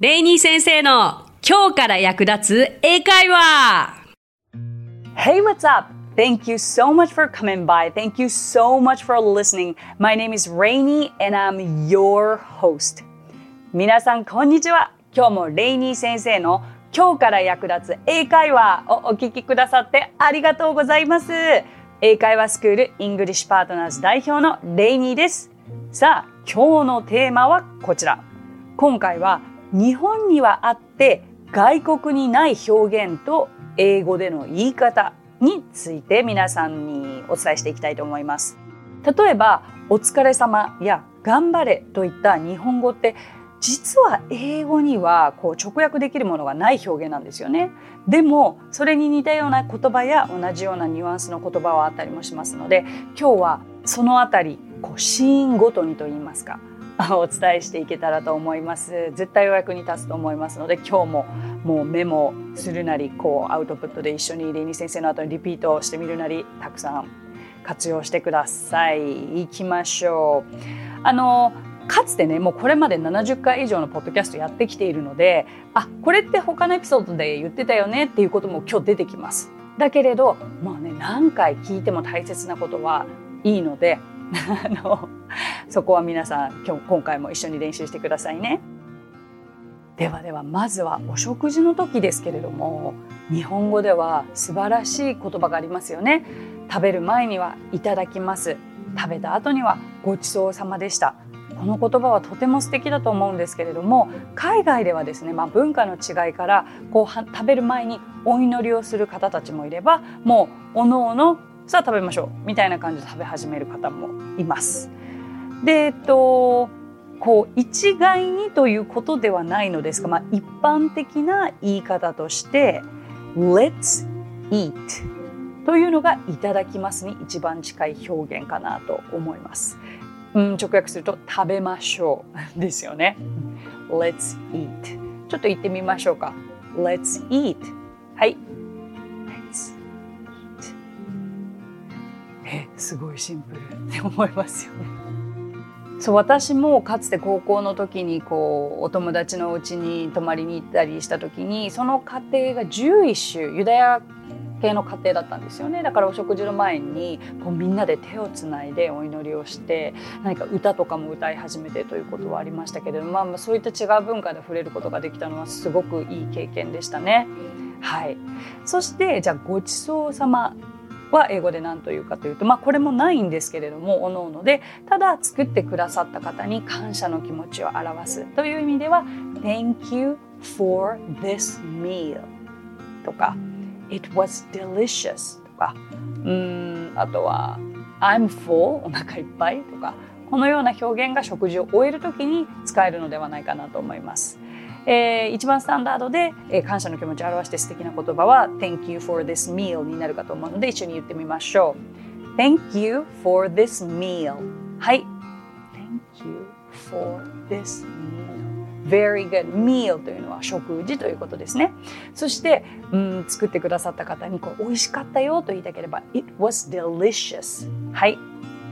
レイニー先生の今日から役立つ英会話。 Hey, what's up? Thank you so much for coming by. Thank you so much for listening. My name is Rainy and I'm your host. 皆さんこんにちは。今日もレイニー先生の今日から役立つ英会話をお聞きくださってありがとうございます。英会話スクールイングリッシュパートナーズ代表のレイニーです。さあ、今日のテーマはこちら。今回は日本にはあって外国にない表現と英語での言い方について皆さんにお伝えしていきたいと思います。例えばお疲れ様や頑張れといった日本語って実は英語には直訳できるものがない表現なんですよね。でもそれに似たような言葉や同じようなニュアンスの言葉はあったりもしますので、今日はそのあたりシーンごとにといいますかお伝えしていけたらと思います。絶対お役に立つと思いますので、今日ももうメモするなりアウトプットで一緒にレイニー先生の後にリピートしてみるなりたくさん活用してください。いきましょう。かつてね、もうこれまで70回以上のポッドキャストやってきているので、これって他のエピソードで言ってたよねっていうことも今日出てきます。だけれど何回聞いても大切なことはいいのでそこは皆さん今回も一緒に練習してくださいね。ではまずはお食事の時ですけれども、日本語では素晴らしい言葉がありますよね。食べる前にはいただきます。食べた後にはごちそうさまでした。この言葉はとても素敵だと思うんですけれども、海外ではですね、文化の違いから食べる前にお祈りをする方たちもいれば、もうおのおのさあ食べましょうみたいな感じで食べ始める方もいます。で、一概にということではないのですが、一般的な言い方としてLet's eat というのがいただきますに一番近い表現かなと思います。直訳すると食べましょうですよね。Let's eat。ちょっと言ってみましょうか。Let's eat。はい。すごいシンプルって思いますよね。そう、私もかつて高校の時にお友達の家に泊まりに行ったりした時に、その家庭が11種ユダヤ系の家庭だったんですよね。だからお食事の前にみんなで手をつないでお祈りをして、何か歌とかも歌い始めてということはありましたけれども、そういった違う文化で触れることができたのはすごくいい経験でしたね。はい。そしてじゃあごちそうさまは英語で何というかというと、これもないんですけれども、おのおのでただ作ってくださった方に感謝の気持ちを表すという意味では Thank you for this meal とか It was delicious とか、あとは I'm full お腹いっぱいとか、このような表現が食事を終えるときに使えるのではないかなと思います。一番スタンダードで、感謝の気持ちを表して素敵な言葉は Thank you for this meal になるかと思うので、一緒に言ってみましょう。 Thank you for this meal。 はい、 Thank you for this meal。 Very good。 meal というのは食事ということですね。そして作ってくださった方に美味しかったよと言いたければ It was delicious。 はい、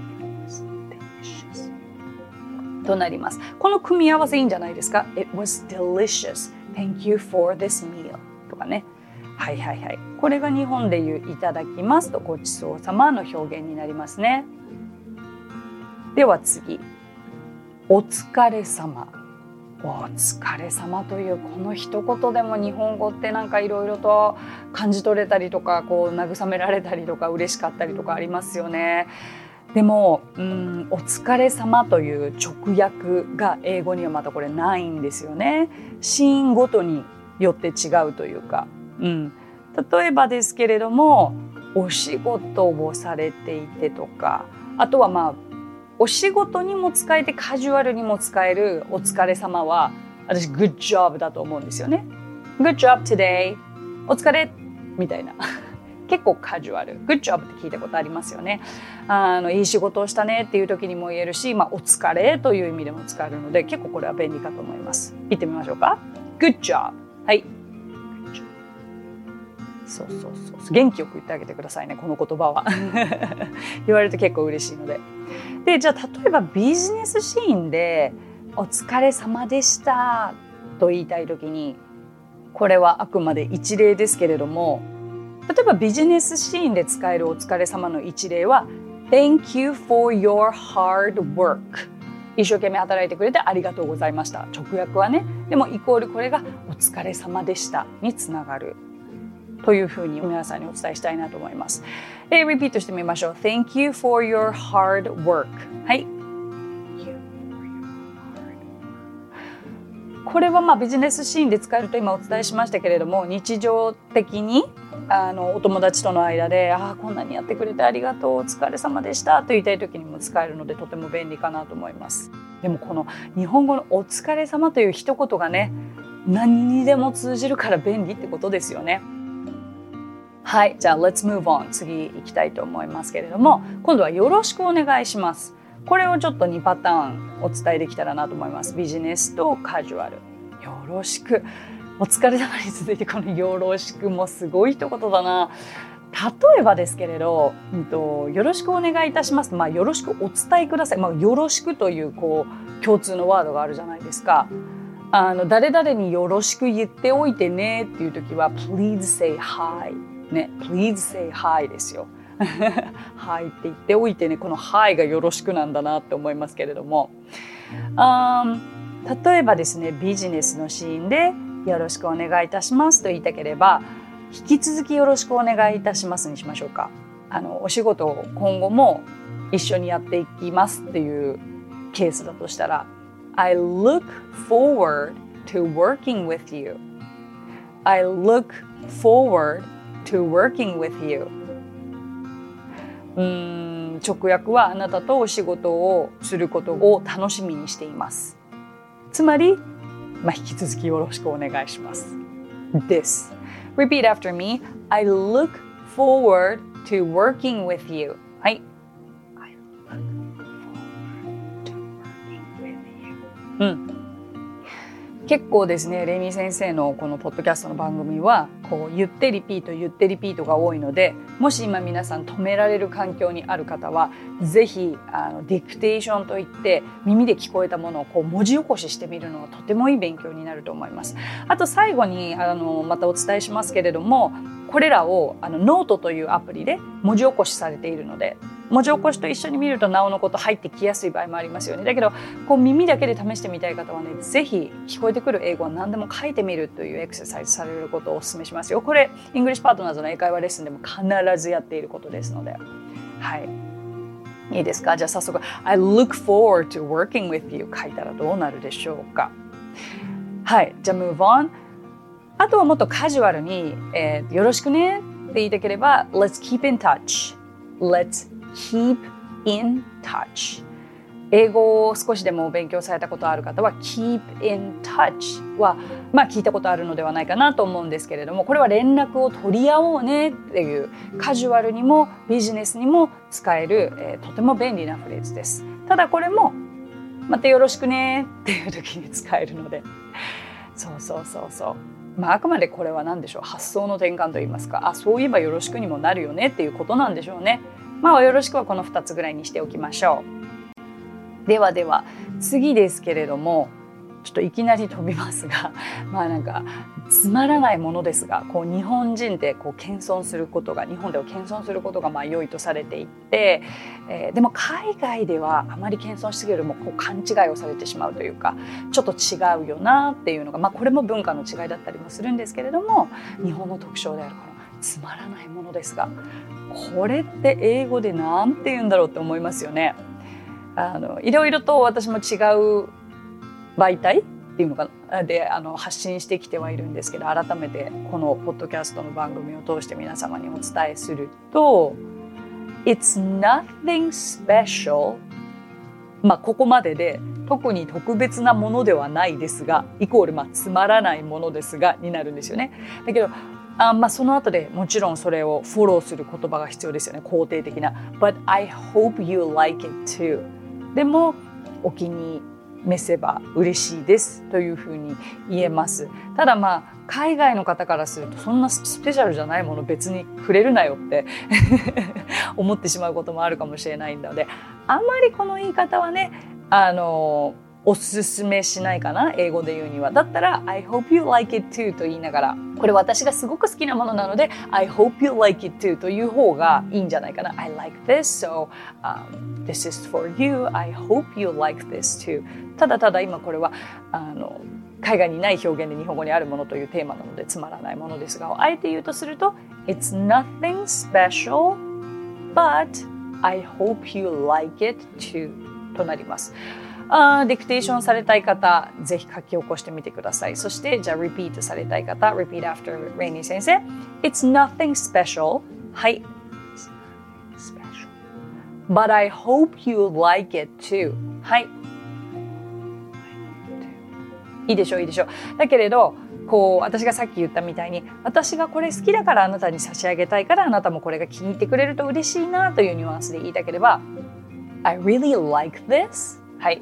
となります。この組み合わせいいんじゃないですか。 It was delicious. Thank you for this meal とかね。はい。これが日本で言ういただきますとごちそうさまの表現になりますね。では次、お疲れ様。お疲れ様というこの一言でも日本語っていろいろと感じ取れたりとか慰められたりとか嬉しかったりとかありますよね。でもお疲れ様という直訳が英語にはまたこれないんですよね。シーンごとによって違うというか、例えばですけれども、お仕事をされていてとか、あとはお仕事にも使えてカジュアルにも使えるお疲れ様は私 Good job だと思うんですよね。Good job today。 お疲れみたいな結構カジュアル。 Good job って聞いたことありますよね。いい仕事をしたねっていう時にも言えるし、お疲れという意味でも使えるので、結構これは便利かと思います。言ってみましょうか。 Good job。 はい、そう元気よく言ってあげてくださいね、この言葉は言われると結構嬉しいので。で、じゃあ例えばビジネスシーンでお疲れ様でしたと言いたいときに、これはあくまで一例ですけれども、例えばビジネスシーンで使えるお疲れ様の一例は Thank you for your hard work。 一生懸命働いてくれてありがとうございました。直訳はね、でもイコールこれがお疲れ様でしたにつながるというふうに皆さんにお伝えしたいなと思います。リピートしてみましょう。 Thank you for your hard work。 はい、これはビジネスシーンで使えると今お伝えしましたけれども、日常的にお友達との間でこんなにやってくれてありがとう、お疲れ様でしたと言いたい時にも使えるのでとても便利かなと思います。でもこの日本語のお疲れ様という一言がね、何にでも通じるから便利ってことですよね。はい、じゃあ Let's move on。 次行きたいと思いますけれども、今度はよろしくお願いします。これをちょっと2パターンお伝えできたらなと思います。ビジネスとカジュアル。よろしく、お疲れ様に続いてこのよろしくもすごい一言だな。例えばですけれど、よろしくお願いいたします。よろしくお伝えください。よろしくという共通のワードがあるじゃないですか。誰々によろしく言っておいてねっていう時は Please say hi ね、Please say hi ですよ。はいって言っておいてね、このはいがよろしくなんだなって思いますけれども、例えばですね、ビジネスのシーンでよろしくお願いいたしますと言いたければ、引き続きよろしくお願いいたしますにしましょうか。お仕事を今後も一緒にやっていきますっていうケースだとしたら、I look forward to working with you. I look forward to working with you。直訳はあなたとお仕事をすることを楽しみにしています。つまり、引き続きよろしくお願いしますです。Repeat after me. I look forward to working with you. はい。I look forward to working with you. 結構ですね、レイミー先生のこのポッドキャストの番組は言ってリピートが多いので、もし今皆さん止められる環境にある方はぜひディクテーションといって耳で聞こえたものを文字起こししてみるのはとてもいい勉強になると思います。あと最後にまたお伝えしますけれども、これらをノートというアプリで文字起こしされているので、文字起こしと一緒に見るとなおのこと入ってきやすい場合もありますよね。だけど耳だけで試してみたい方はね、ぜひ聞こえてくる英語は何でも書いてみるというエクササイズされることをお勧めしますよ。これイングリッシュパートナーズの英会話レッスンでも必ずやっていることですので、はい、いいですか。じゃあ早速 I look forward to working with you 書いたらどうなるでしょうか。はい、じゃあ move on。 あとはもっとカジュアルに、よろしくねって言いたければ Let's keep in touch。 Let's keep in touch。 英語を少しでも勉強されたことある方は keep in touch は聞いたことあるのではないかなと思うんですけれども、これは連絡を取り合おうねっていうカジュアルにもビジネスにも使える、とても便利なフレーズです。ただこれもまたよろしくねっていう時に使えるので、そうあくまでこれは何でしょう、発想の転換といいますか、そういえばよろしくにもなるよねっていうことなんでしょうね。よろしくはこの2つぐらいにしておきましょう。では次ですけれども、ちょっといきなり飛びますが、つまらないものですが、日本人で謙遜することが、日本では謙遜することが良いとされていて、でも海外ではあまり謙遜しすぎるも勘違いをされてしまうというか、ちょっと違うよなっていうのが、これも文化の違いだったりもするんですけれども、日本の特徴であるこのつまらないものですが、これって英語でなんて言うんだろうって思いますよね。いろいろと私も違う媒体っていうのかで発信してきてはいるんですけど、改めてこのポッドキャストの番組を通して皆様にお伝えすると It's nothing special、ここまでで特に特別なものではないですがイコールつまらないものですがになるんですよね。だけどその後でもちろんそれをフォローする言葉が必要ですよね。肯定的な But I hope you like it too。 でもお気に召せば嬉しいですというふうに言えます。ただ海外の方からするとそんなスペシャルじゃないもの別にくれるなよって思ってしまうこともあるかもしれないので、あまりこの言い方はねおすすめしないかな、英語で言うには。だったら I hope you like it too と言いながら、これ私がすごく好きなものなので I hope you like it too という方がいいんじゃないかな。 I like this, so、this is for you. I hope you like this too。 ただただ今これは海外にない表現で日本語にあるものというテーマなのでつまらないものですが、あえて言うとすると It's nothing special but I hope you like it too となります。ディクテーションされたい方、ぜひ書き起こしてみてください。そして、じゃあ、リピートされたい方、repeat after Rainy 先生。It's nothing special. はい。special. But I hope you like it too. はい。いいでしょう、いいでしょう。だけれど、私がさっき言ったみたいに、私がこれ好きだからあなたに差し上げたいからあなたもこれが気に入ってくれると嬉しいなというニュアンスで言いたければ、I really like this. はい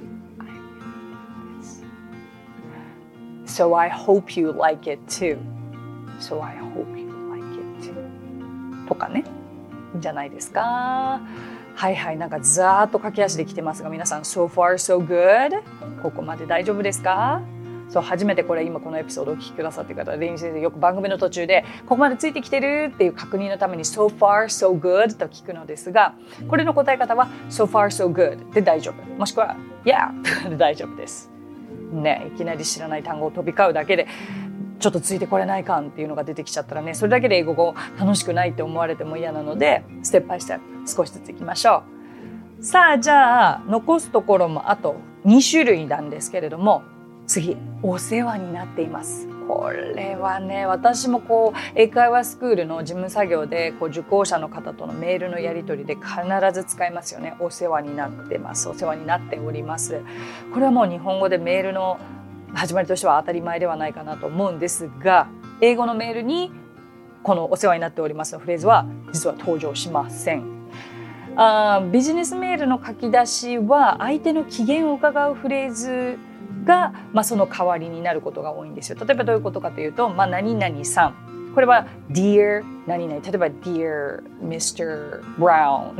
。So I hope you like it too. So I hope you like it too. とかね。いいんじゃないですか。はいはい。なんかざーっと駆け足で来てますが、皆さん So far so good? ここまで大丈夫ですか？そう、初めてこれ今このエピソードをお聞きくださっている方は、レイニー先生よく番組の途中でここまでついてきてるっていう確認のために So far so good と聞くのですが、これの答え方は So far so good で大丈夫。もしくは Yeah で大丈夫です。ね、いきなり知らない単語を飛び交うだけでちょっとついてこれない感っていうのが出てきちゃったらね、それだけで英語が楽しくないって思われても嫌なので、ステップバイステップ少しずついきましょう。さあ、じゃあ残すところもあと2種類なんですけれども、次、お世話になっています。これはね、私も英会話スクールの事務作業で受講者の方とのメールのやり取りで必ず使いますよね。お世話になってます。お世話になっております。これはもう日本語でメールの始まりとしては当たり前ではないかなと思うんですが、英語のメールにこのお世話になっておりますのフレーズは実は登場しません。ビジネスメールの書き出しは相手の機嫌を伺うフレーズが、その代わりになることが多いんですよ。例えばどういうことかというと、何々さん。これは Dear 何々。例えば Dear Mr. Brown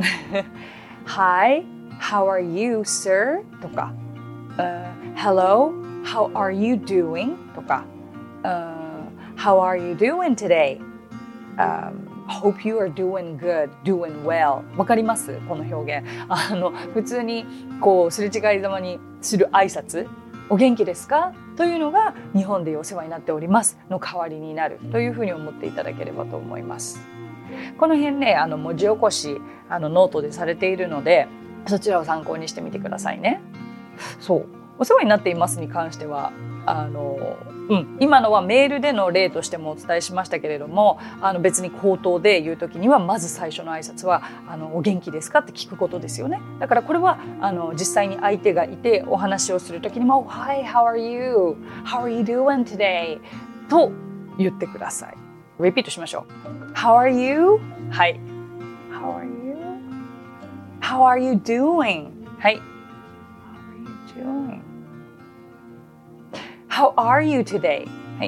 Hi, how are you, sir? とか、Hello, how are you doing? とか、How are you doing today? Hope you are doing good, doing well. わかります？この表現。普通にすれ違いざまにする挨拶。お元気ですか？というのが日本でお世話になっておりますの代わりになるというふうに思っていただければと思います。この辺ね、文字起こしノートでされているので、そちらを参考にしてみてくださいね。そう、お世話になっていますに関しては今のはメールでの例としてもお伝えしましたけれども、別に口頭で言うときにはまず最初の挨拶はお元気ですかって聞くことですよね。だからこれは実際に相手がいてお話をするときにも Hi, how are you? How are you doing today? と言ってください。リピートしましょう。How are you? はい。How are you? How are you doing? はい。How are you doing?How are you today? はい。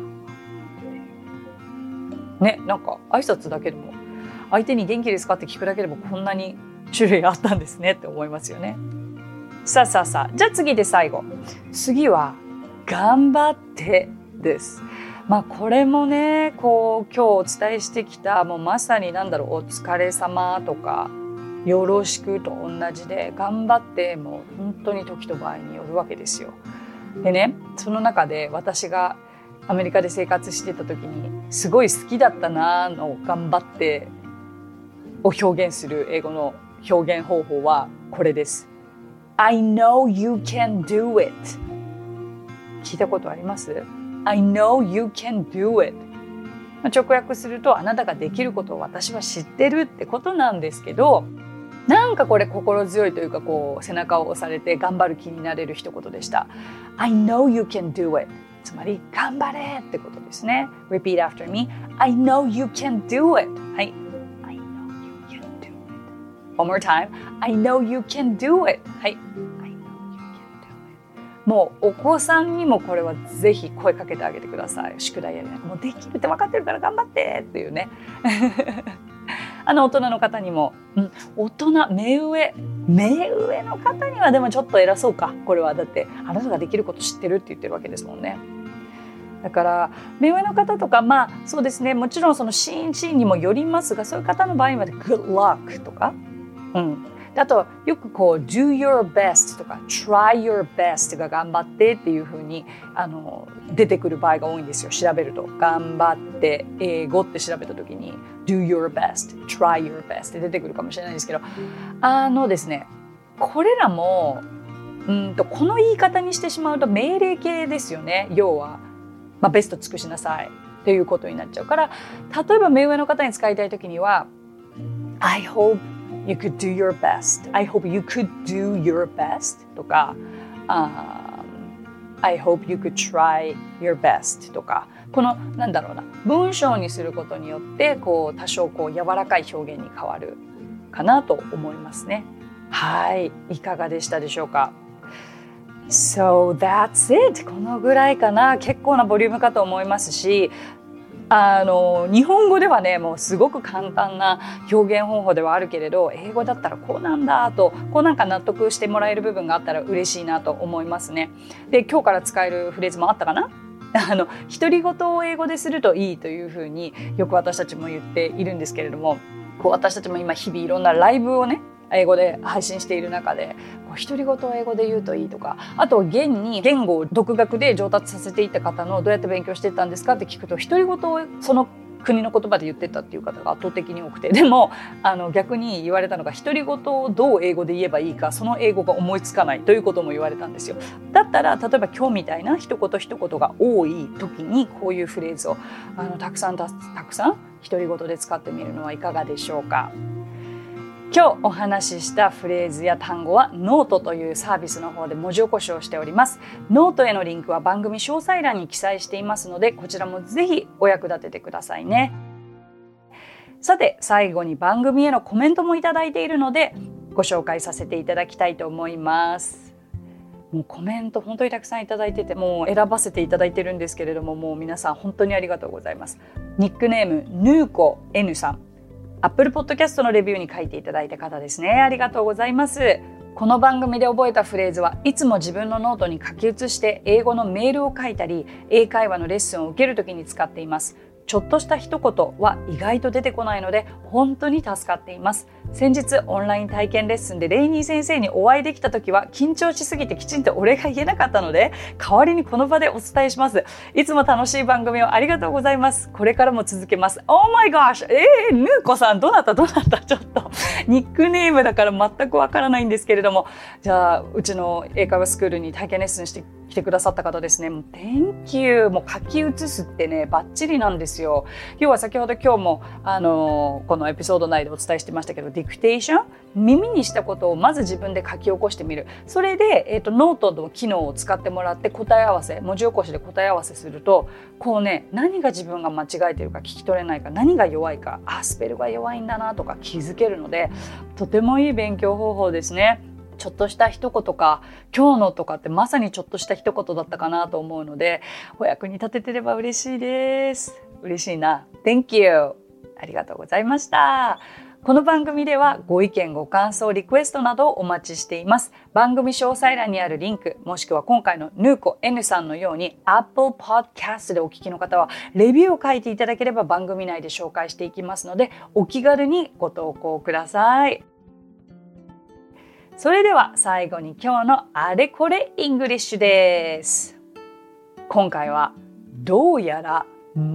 ね、なんか挨拶だけでも相手に元気ですかって聞くだけでもこんなに種類あったんですねって思いますよね。さあ、じゃあ次で最後。次は頑張ってです。これもね、今日お伝えしてきたもうまさにお疲れ様とかよろしくと同じで、頑張ってもう本当に時と場合によるわけですよ。でね、その中で私がアメリカで生活してた時にすごい好きだったなの頑張ってを表現する英語の表現方法はこれです。I know you can do it。 聞いたことあります？ I know you can do it。直訳すると、あなたができることを私は知ってるってことなんですけど、なんかこれ心強いというか背中を押されて頑張る気になれる一言でした。I know you can do it。 つまり頑張れってことですね。 Repeat after me. I know you can do it。 はい。I know you can do it。 One more time. I know you can do it。 はい。I know you can do it。 もうお子さんにもこれはぜひ声かけてあげてください。宿題やりながらもうできるって分かってるから頑張ってっていうね大人の方にも、目上の方にはでもちょっと偉そうか。これはだってあなたができること知ってるって言ってるわけですもんね。だから目上の方とかそうですね、もちろんそのシーンにもよりますが、そういう方の場合は Good luck とか、あとよくこう Do your best とか Try your best が頑張ってっていう風に出てくる場合が多いんですよ。調べると頑張って英語って調べた時に Do your best Try your best って出てくるかもしれないですけど、ですね、これらもこの言い方にしてしまうと命令形ですよね。要はベスト尽くしなさいっていうことになっちゃうから、例えば目上の方に使いたい時には I hope you could do your best I hope you could do your best とか、I hope you could try your best とか、この文章にすることによってこう多少こう柔らかい表現に変わるかなと思いますね。はい、いかがでしたでしょうか。So that's it。 このぐらいかな。結構なボリュームかと思いますし、日本語ではねもうすごく簡単な表現方法ではあるけれど、英語だったらこうなんだとこう納得してもらえる部分があったら嬉しいなと思いますね。で、今日から使えるフレーズもあったかな。独り言を英語でするといいというふうによく私たちも言っているんですけれども、私たちも今日々いろんなライブをね英語で配信している中で、独り言を英語で言うといいとか、あと現に言語を独学で上達させていった方のどうやって勉強していったんですかって聞くと、独り言をその国の言葉で言ってたっていう方が圧倒的に多くて、でも逆に言われたのが、独り言をどう英語で言えばいいか、その英語が思いつかないということも言われたんですよ。だったら例えば今日みたいな一言一言が多い時にこういうフレーズをたくさん独り言で使ってみるのはいかがでしょうか。今日お話ししたフレーズや単語はノートというサービスの方で文字起こしをしております。ノートへのリンクは番組詳細欄に記載していますので、こちらもぜひお役立ててくださいね。さて、最後に番組へのコメントもいただいているのでご紹介させていただきたいと思います。もうコメント本当にたくさんいただいてて、もう選ばせていただいてるんですけれども、もう皆さん本当にありがとうございます。ニックネームヌーコ N さん、Apple Podcast のレビューに書いていただいた方ですね。ありがとうございます。この番組で覚えたフレーズはいつも自分のノートに書き写して英語のメールを書いたり、英会話のレッスンを受けるときに使っています。ちょっとした一言は意外と出てこないので本当に助かっています。先日オンライン体験レッスンでレイニー先生にお会いできた時は緊張しすぎてきちんとお礼が言えなかったので、代わりにこの場でお伝えします。いつも楽しい番組をありがとうございます。これからも続けます。Oh my gosh! ヌーコさんどなたちょっとニックネームだから全くわからないんですけれども、じゃあうちの英会話スクールに体験レッスンして来てくださった方ですね。もう Thank you。もう書き写すってねバッチリなんですよ。要は先ほど今日もこのエピソード内でお伝えしてましたけど、ディクテーション、耳にしたことをまず自分で書き起こしてみる。それで、ノートの機能を使ってもらって答え合わせ、文字起こしで答え合わせすると、こうね、何が自分が間違えてるか聞き取れないか、何が弱いか、スペルが弱いんだなとか気づけるので、とてもいい勉強方法ですね。ちょっとした一言か、今日のとかってまさにちょっとした一言だったかなと思うので、お役に立ててれば嬉しいです。嬉しいな。Thank you。ありがとうございました。この番組ではご意見、ご感想、リクエストなどをお待ちしています。番組詳細欄にあるリンク、もしくは今回のヌーコ N さんのように Apple Podcast でお聞きの方はレビューを書いていただければ番組内で紹介していきますので、お気軽にご投稿ください。それでは最後に今日のあれこれイングリッシュです。今回はどうやら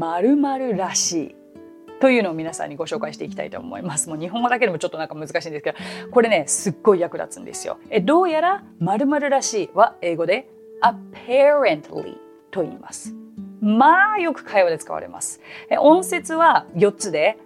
〇〇らしいというのを皆さんにご紹介していきたいと思います。もう日本語だけでもちょっと難しいんですけど、これねすっごい役立つんですよ。どうやら〇〇らしいは英語で apparently と言います。まあよく会話で使われます。音節は4つで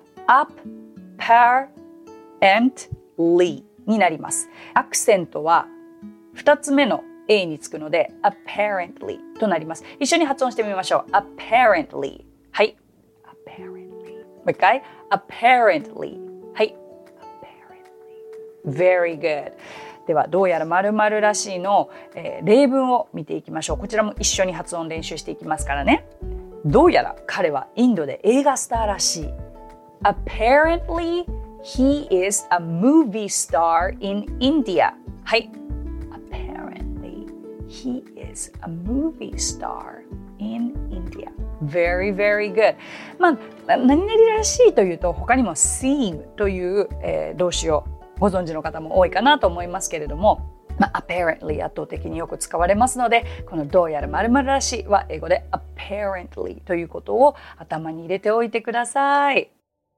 apparentlyになります。アクセントは2つ目の A につくので apparently となります。一緒に発音してみましょう。apparently。はい。apparently。もう一回。apparently。はい。apparently。very good。では、どうやら〇〇らしいの、例文を見ていきましょう。こちらも一緒に発音練習していきますからね。どうやら彼はインドで映画スターらしい。apparently He is a movie star in India. はい。Apparently, he is a movie star in India. Very, very good. 何々らしいというと、他にも seem という、動詞をご存知の方も多いかなと思いますけれども、apparently 圧倒的によく使われますので、このどうやら〇〇らしいは英語で apparently ということを頭に入れておいてください。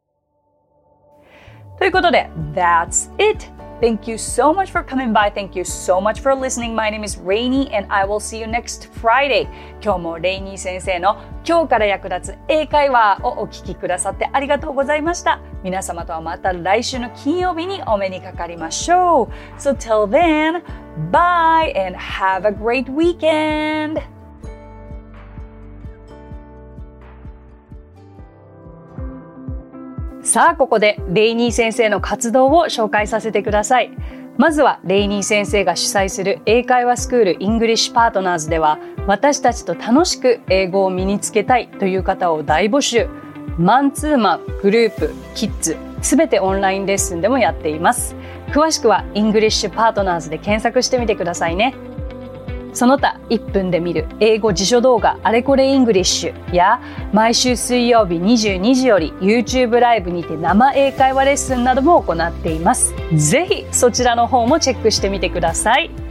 ということで、That's it!Thank you so much for coming by. Thank you so much for listening. My name is Rainy and I will see you next Friday. 今日もレイニー先生の今日から役立つ英会話をお聞きくださってありがとうございました。皆様とはまた来週の金曜日にお目にかかりましょう。So till then, bye and have a great weekend! さあここでレイニー先生の活動を紹介させてください。まずはレイニー先生が主催する英会話スクール English Partners では、私たちと楽しく英語を身につけたいという方を大募集。マンツーマン、グループ、キッズ、すべてオンラインレッスンでもやっています。詳しくは English Partners で検索してみてくださいね。その他1分で見る英語辞書動画あれこれイングリッシュや毎週水曜日22時より YouTube ライブにて生英会話レッスンなども行っています。ぜひそちらの方もチェックしてみてください。